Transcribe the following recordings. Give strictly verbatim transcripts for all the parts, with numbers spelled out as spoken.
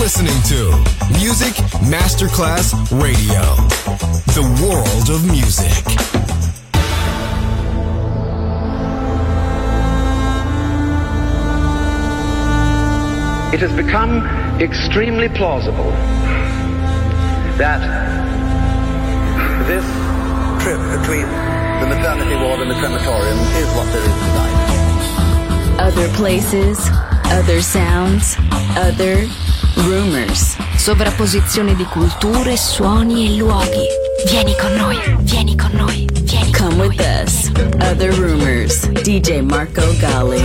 listening to Music Masterclass Radio, the world of music. It has become extremely plausible that this trip between the maternity ward and the crematorium is what there is tonight. Other places, other sounds, other rumors. Sovrapposizione di culture, suoni e luoghi. Vieni con noi, vieni con noi, vieni con Come noi. With us. Other rumors. D J Marco Gally.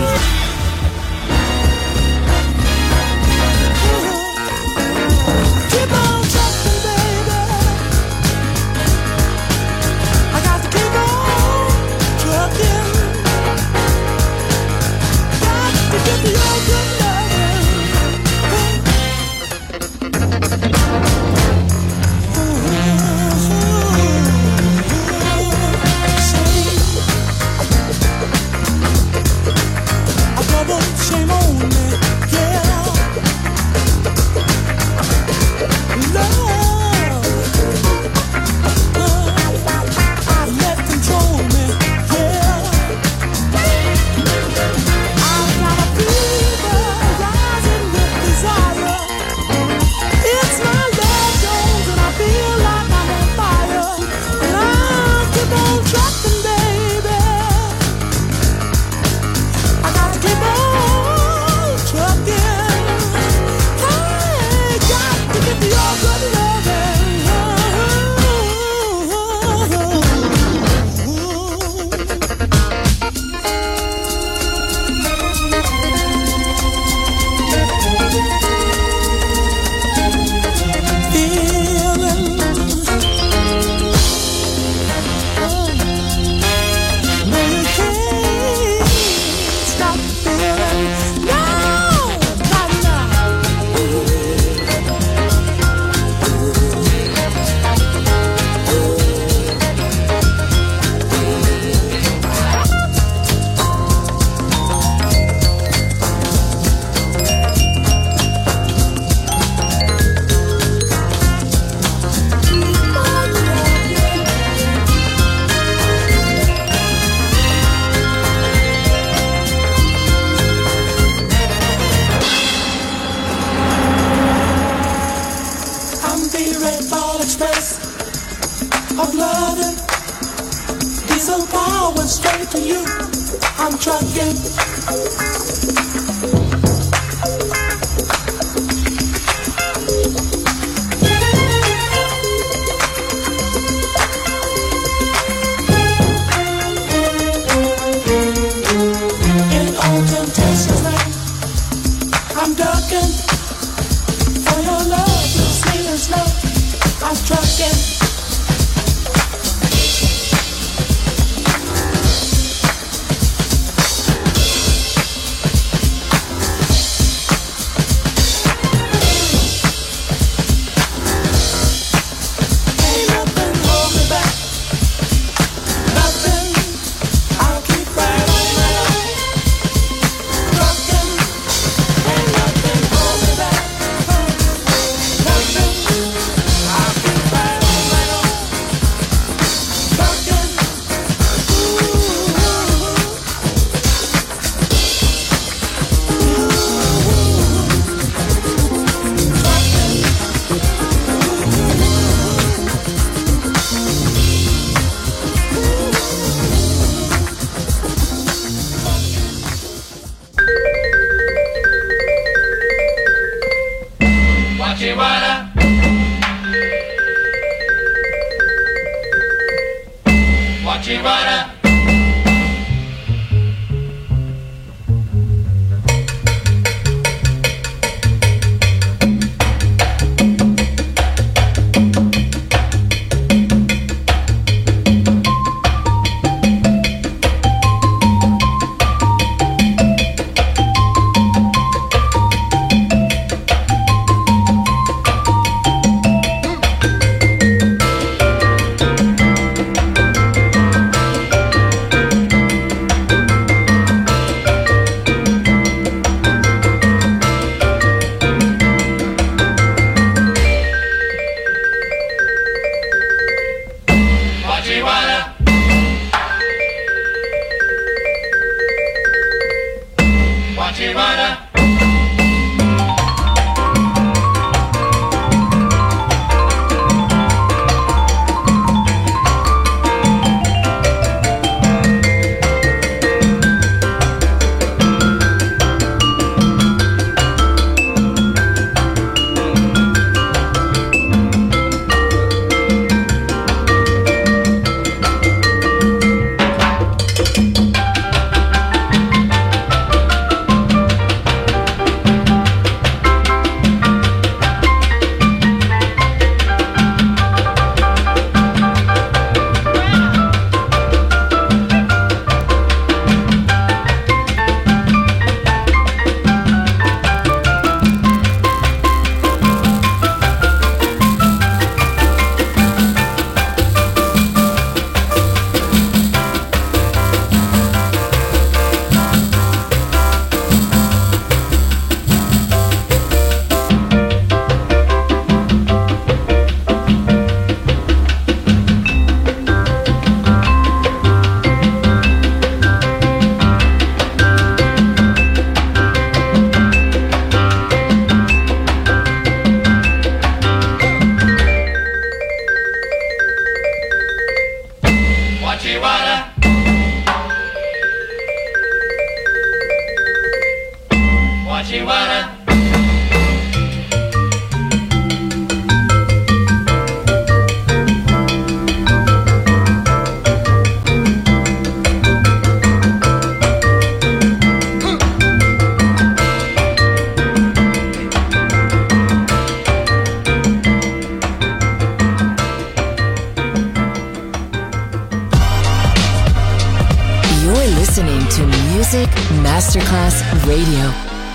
Masterclass Radio.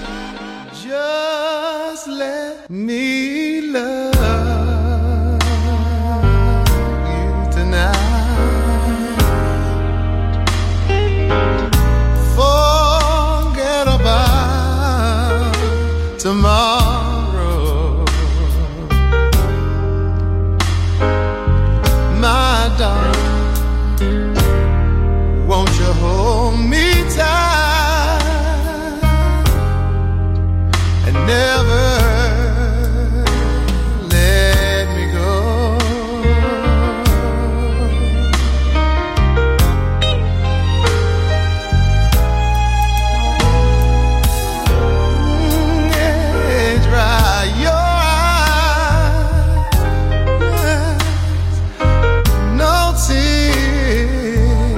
Just let me love you tonight. Forget about tomorrow, my darling. Won't you hold me tight and never let me go? Mm, yeah, dry your eyes, no tears,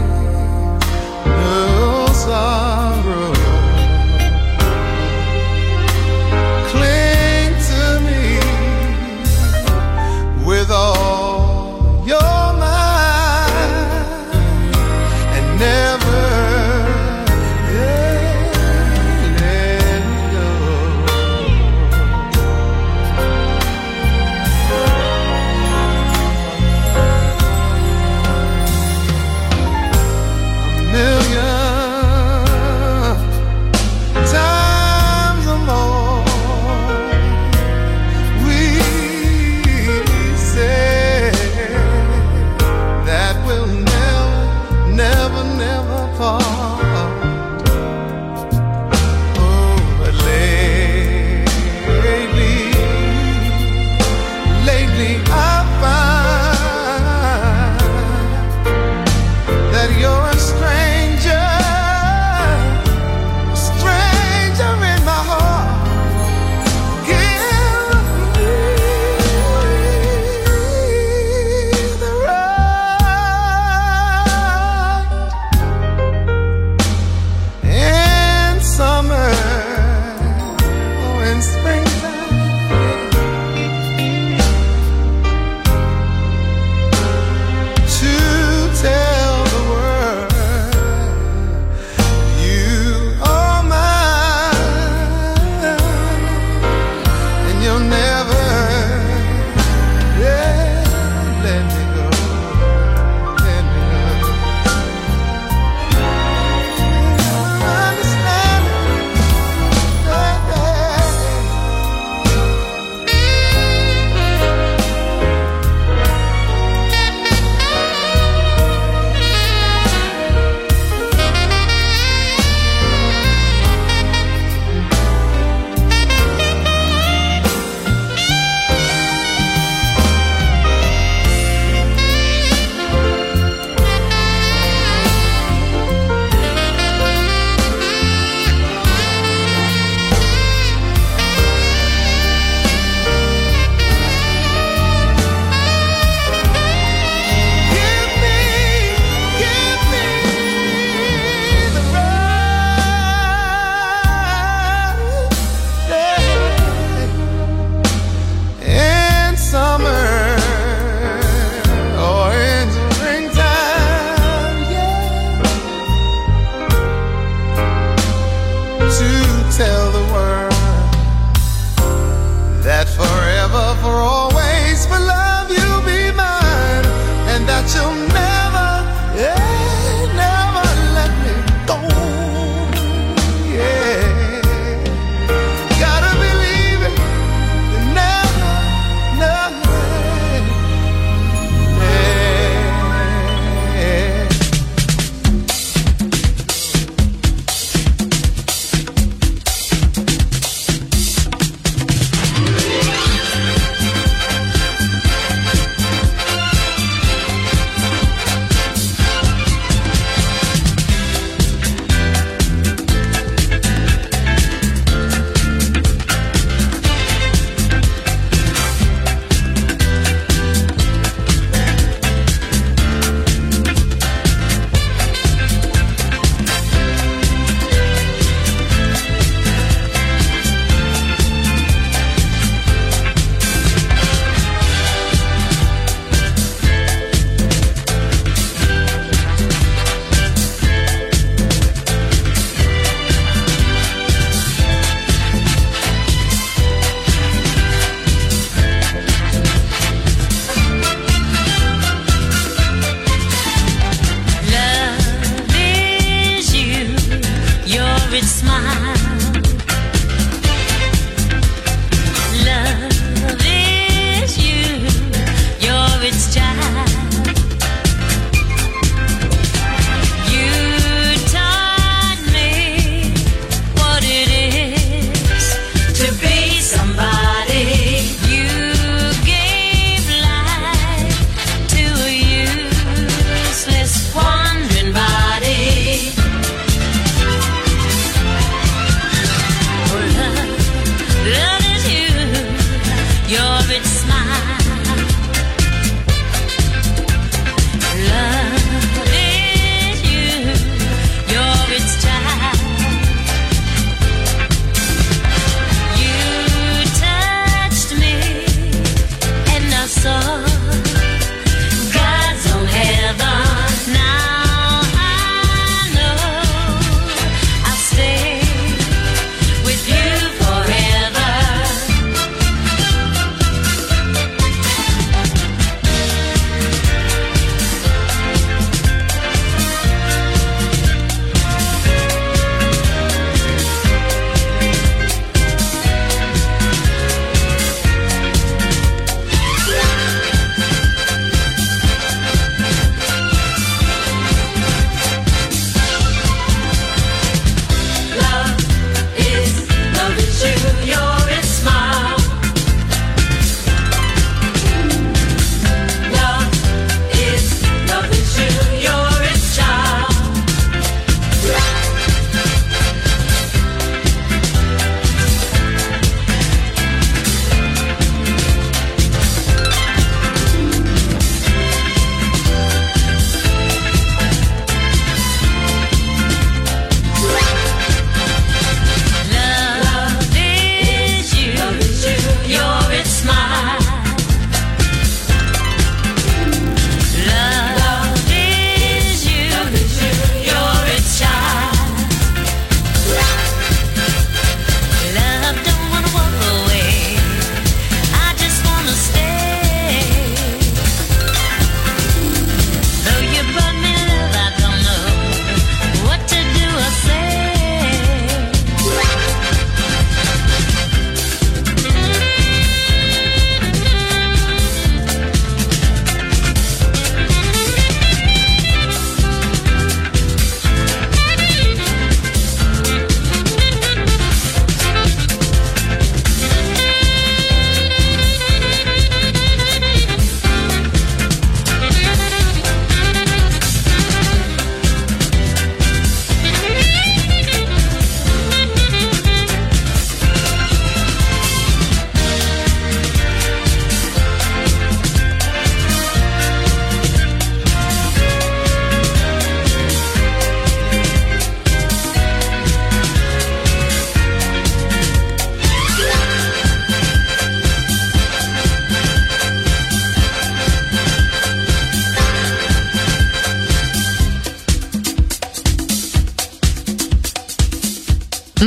no sorrow. Cling to me with all your might and never yeah, let me go. A million times or more we say that we'll never, never, never part. Oh, but lately, lately I find that you're a stranger, a stranger in my heart. Give me the right in summer or in springtime to tell the world you are mine, and you'll never yeah, let me go, let me go. Understand it, yeah, yeah.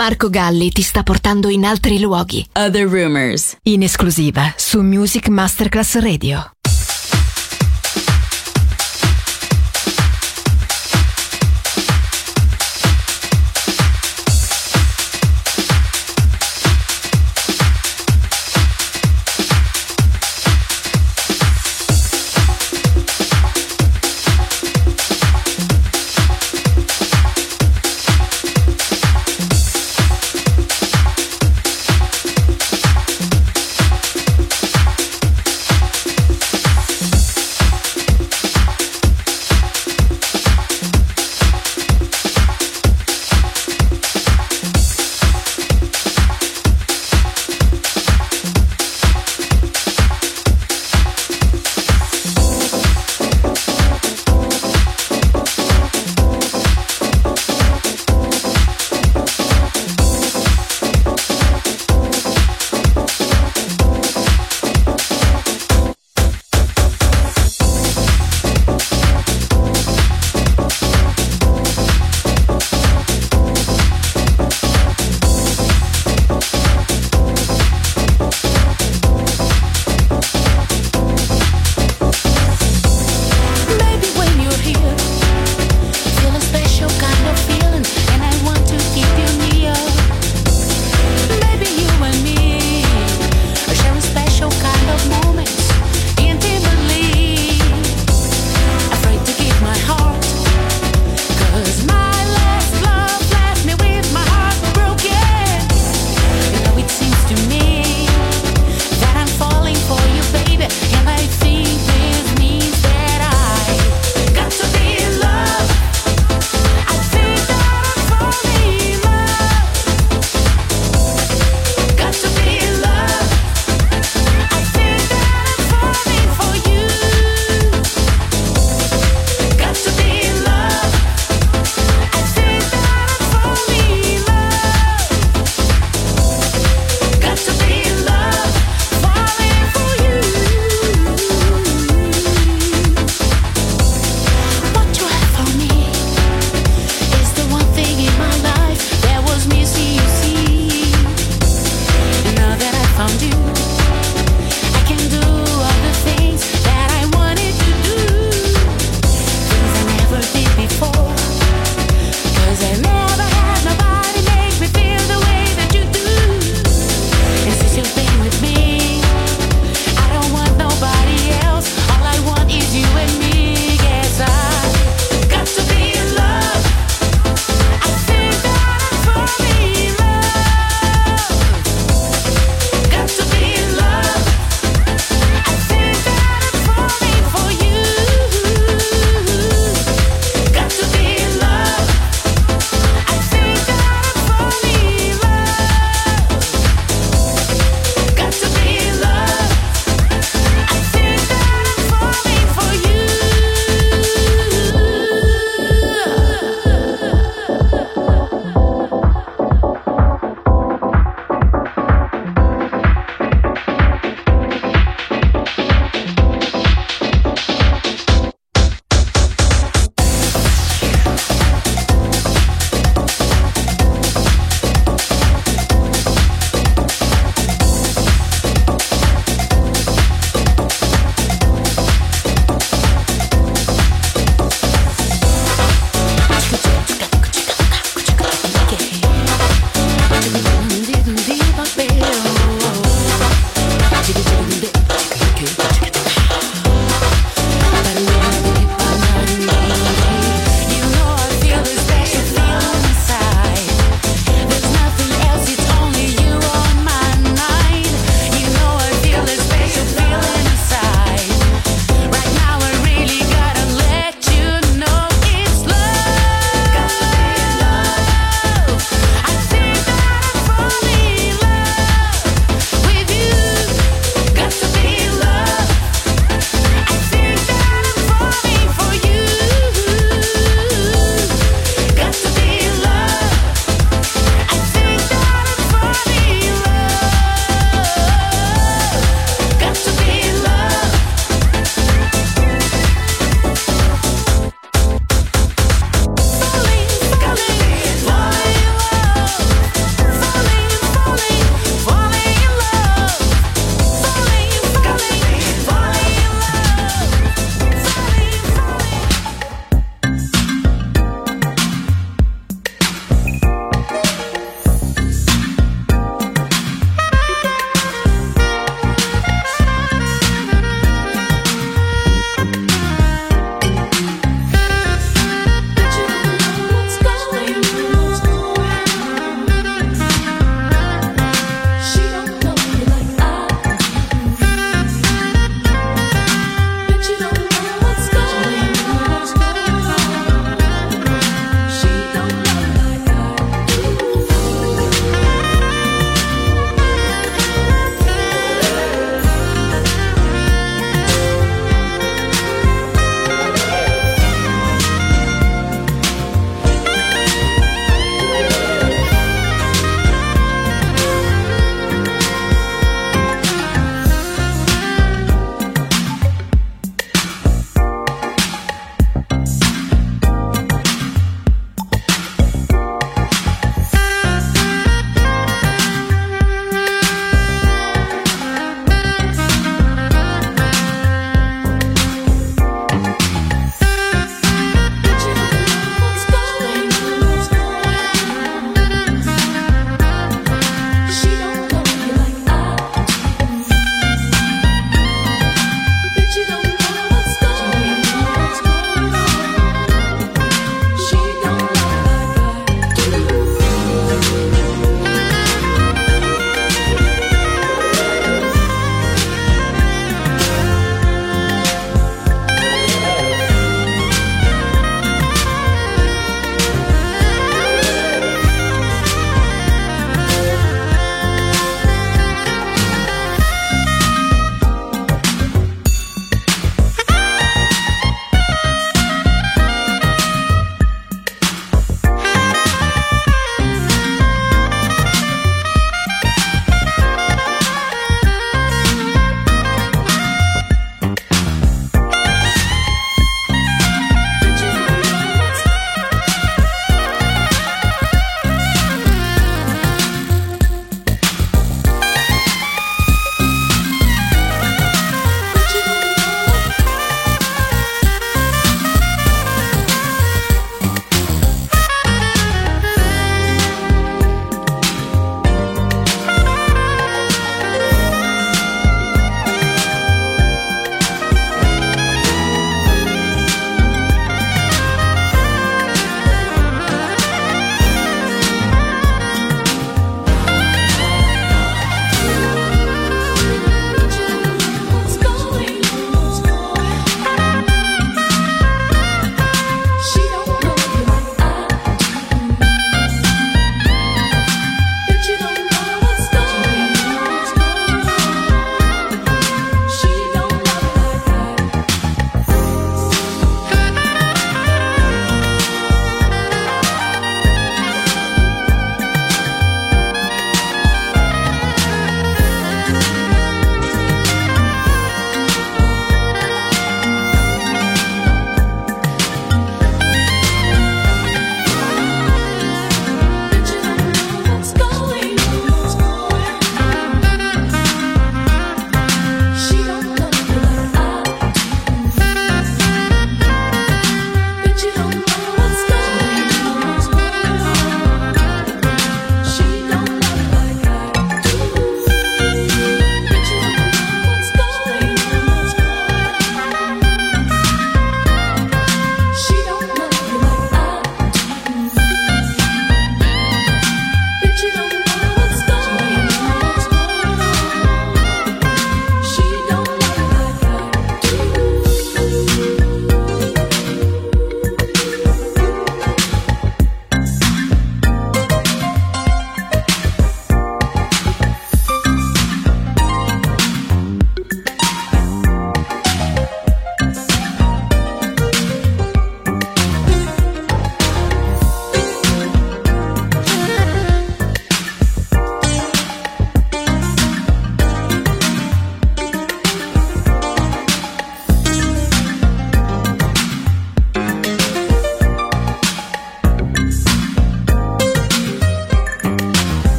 Marco Galli ti sta portando in altri luoghi. Other Rumors, in esclusiva su Music Masterclass Radio.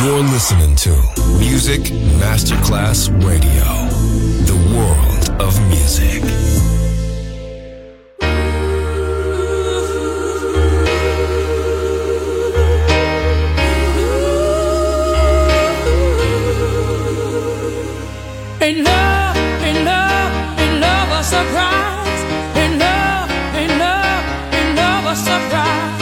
You're listening to Music Masterclass Radio, the world of music. Ain't love, ain't love, ain't love a surprise. Ain't love, ain't love, ain't love a surprise.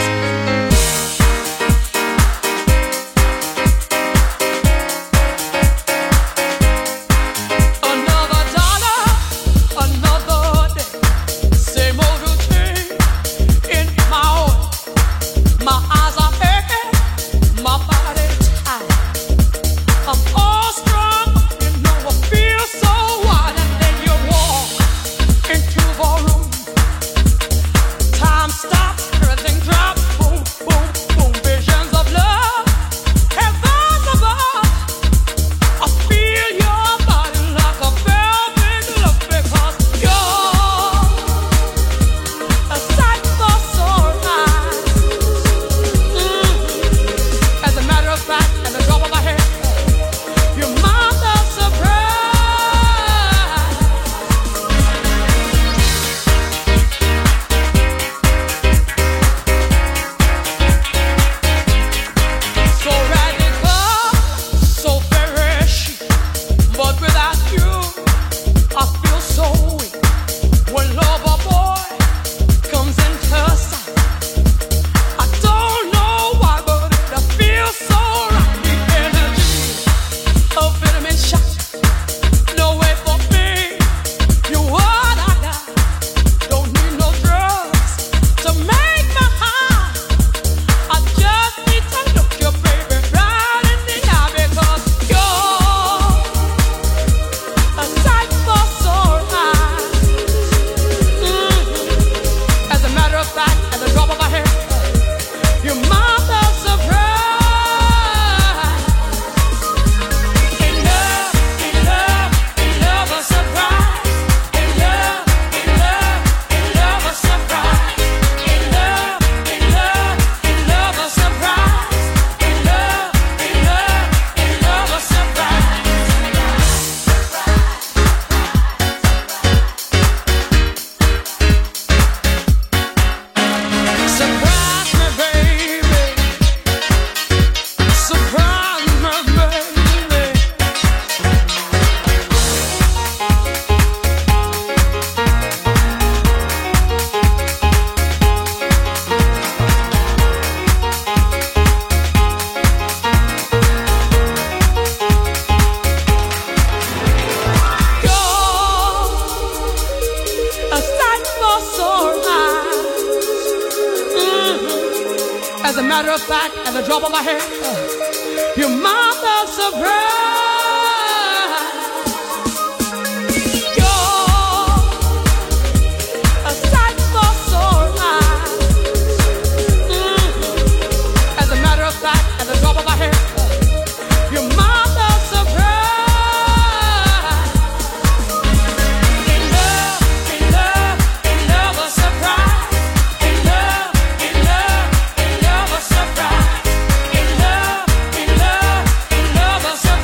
Another dollar, another day. Same old routine in my own. My eyes are aching, my body tired. I'm all strong. Feel so wild, and then you walk into the room. Time stops, everything drops, boom, boom, boom. Visions of love, heavens above. I feel your body like a velvet glove because you're a sight for sore eyes. Mm-hmm. As a matter of fact, at the drop of a hat, your mind does surprise. As a matter of fact, at the drop of a hat, your mother's surprise. Surprise.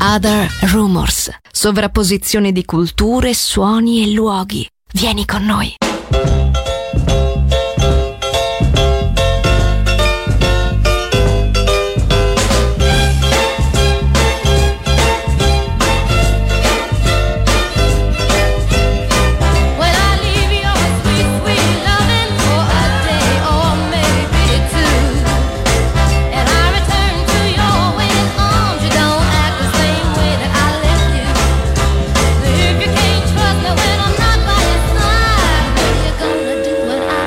Other Rumors, sovrapposizione di culture, suoni e luoghi. Vieni con noi. When I'm not by your side, what you gonna do when I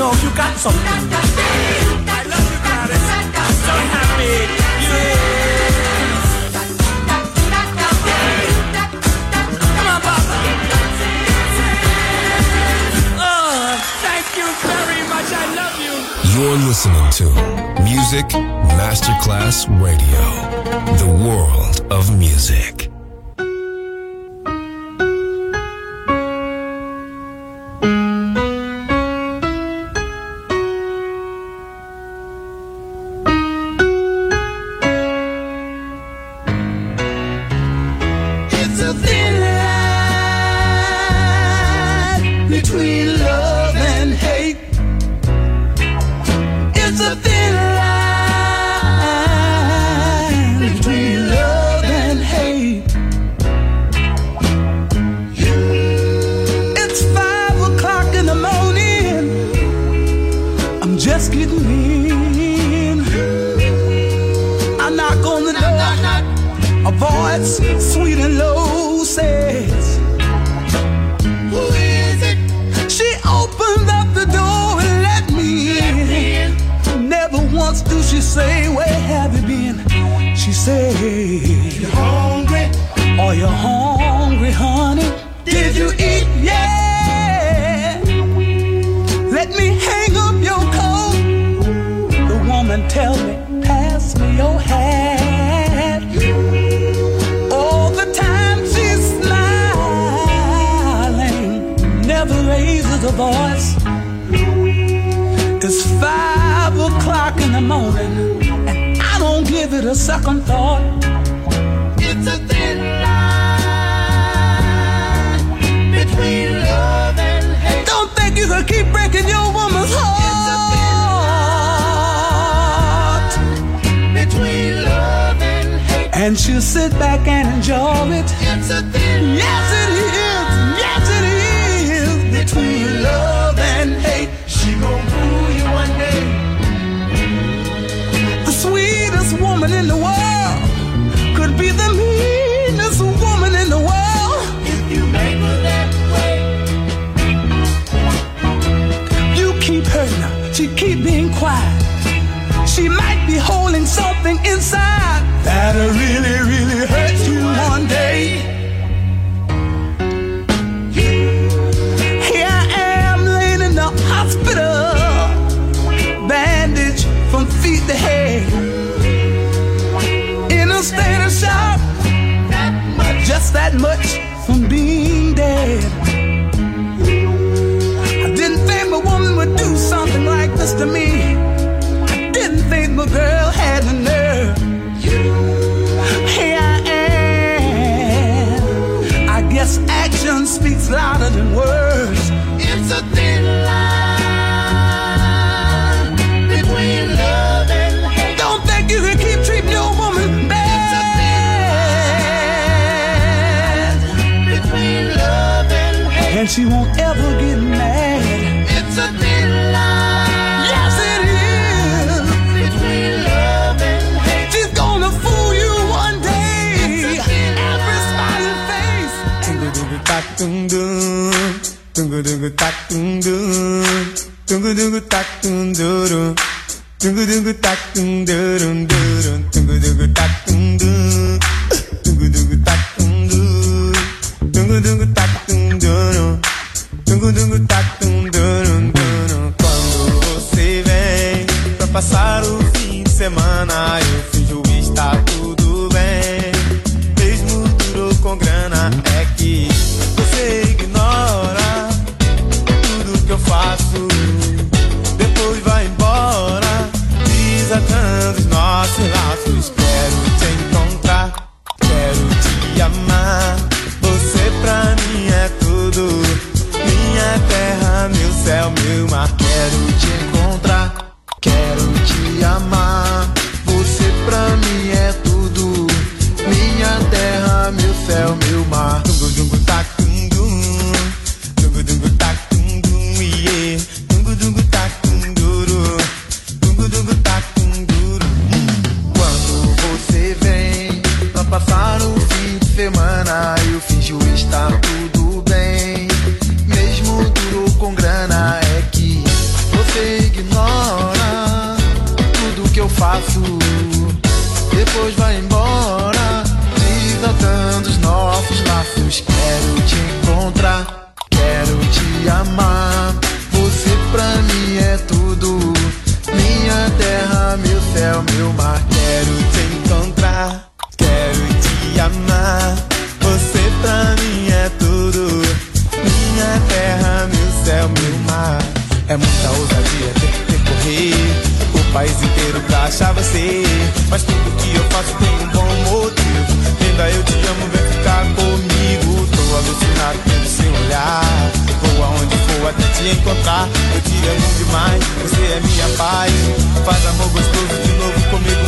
know you got something. I love you, Gladys. I'm so happy. Yeah. Come on, Papa. Oh, thank you very much. I love you. You're listening to Music Masterclass Radio, the world of music. And she'll sit back and enjoy it. It's a thin yes, it is. Yes, it is. Between love and hate, she gon' fool you one day. The sweetest woman in the world could be the meanest woman in the world if you make her that way. You keep hurting her, she keep being quiet. She might be holding something inside that'll really, really hurt you one day. Here I am laying in the hospital, bandaged from feet to head, in a state of shock, just that much from being dead. I didn't think a woman would do something like this to me. Didn't think my girl had the nerve. Here I am. I guess action speaks louder than words. It's a thin line between love and hate. Don't think you can keep treating your woman bad. It's a thin line between love and hate. And she won't ever get mad. It's a thin line. Yes, it is. Dun dun, dun dun tak dun dun, dun dun tak dun dun, dun dun tak dun dun dun, dun dun tak dun dun, dun dun tak dun dun, dun dun tak dun dun, dun dun tak dun dun dun. Quando você vem pra passar o fim de semana, eu finjo estar tudo bem, mesmo duro com grana, é que você ignora tudo que eu faço, depois vai embora, desatando os nossos laços. Quero te encontrar, quero te amar, você pra mim é tudo, minha terra, meu céu, meu mar. Quero te encontrar, quero te amar, você pra mim é tudo, minha terra, meu céu, meu mar. Dungu dungu tak dum dungu dungu tak dum dum yeah, dungu dungu tak dum duro, dungu dungu tak dum duro. Quando você vem pra passar o fim de semana, eu finjo estar tudo bem, mesmo duro com grana, é que você depois vai embora, resgatando os nossos laços. Quero te encontrar, quero te amar. Você pra mim é tudo, minha terra, meu céu, meu mar. Quero te encontrar, quero te amar. Você pra mim é tudo, minha terra, meu céu, meu mar. É muita ousadia ter que percorrer o país inteiro pra achar você, mas tudo que eu faço tem um bom motivo. Linda, eu te amo, vem ficar comigo. Tô alucinado pelo seu olhar, vou aonde for até te encontrar. Eu te amo demais, você é minha paz. Faz amor gostoso de novo comigo,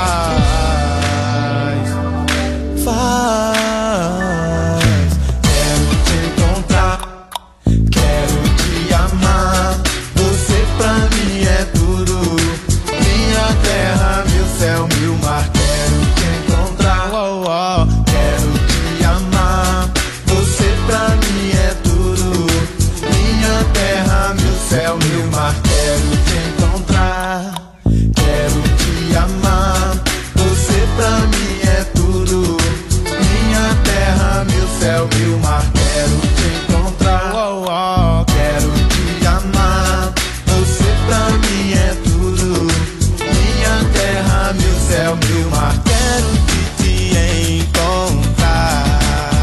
faz, faz. Quero te encontrar, quero te amar. Você pra mim é tudo, minha terra, meu céu, meu mar. Quero te encontrar, oh, oh. Quero te amar. Você pra mim é tudo, minha terra, meu céu, meu mar. Quero te encontrar, quero te amar. Você pra mim é tudo, minha terra, meu céu, meu mar. Quero te encontrar, oh, oh. Quero te amar. Você pra mim é tudo, minha terra, meu céu, meu mar. Quero te, te encontrar,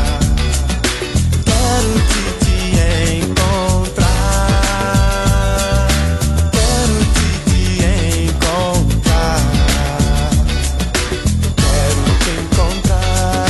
quero te, te encontrar, quero te, te encontrar, quero te encontrar.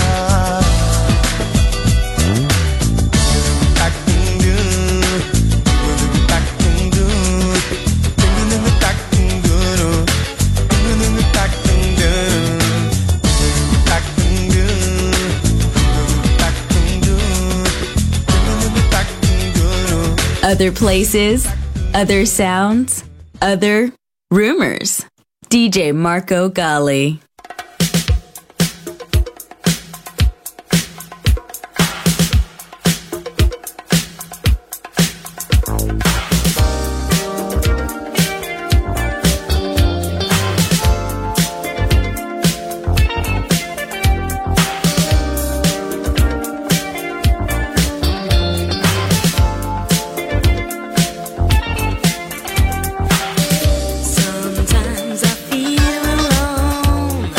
Other places, other sounds, other rumors. D J Marco Gally. Sometimes I feel alone.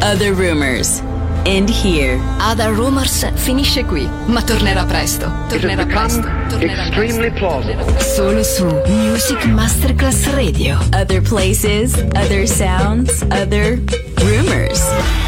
Other Rumors. End here. Other Rumors finisce qui, ma tornerà presto. Tornerà presto. Tornerà extremely plausible. Solo su Music Masterclass Radio. Other places, other sounds, other rumors.